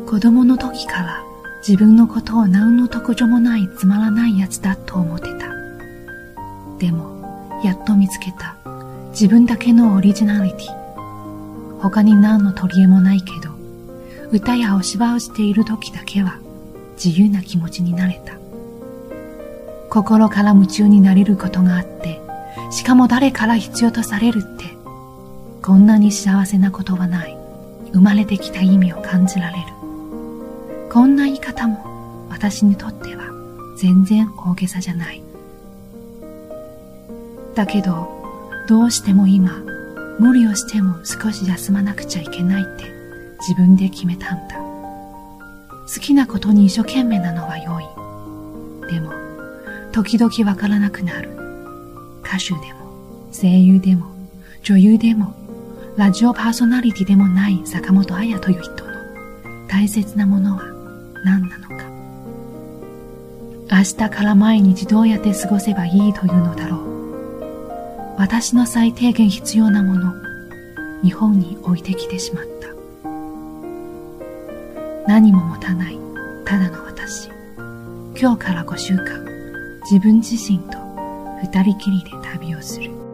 子供の時から自分のことを何の特徴もないつまらないやつだと思ってた。でもやっと見つけた自分だけのオリジナリティ。他に何の取り柄もないけど、歌やお芝居をしている時だけは自由な気持ちになれた。心から夢中になれることがあって、しかも誰から必要とされるって、こんなに幸せなことはない。生まれてきた意味を感じられる。こんな言い方も私にとっては全然大げさじゃない。だけど、どうしても今、無理をしても少し休まなくちゃいけないって自分で決めたんだ。好きなことに一生懸命なのは良い。でも、時々わからなくなる。歌手でも、声優でも、女優でも、ラジオパーソナリティでもない坂本彩という人の大切なものは何なのか。明日から毎日どうやって過ごせばいいというのだろう。私の最低限必要なもの、日本に置いてきてしまった。何も持たない、ただの私。今日から5週間、自分自身と二人きりで旅をする。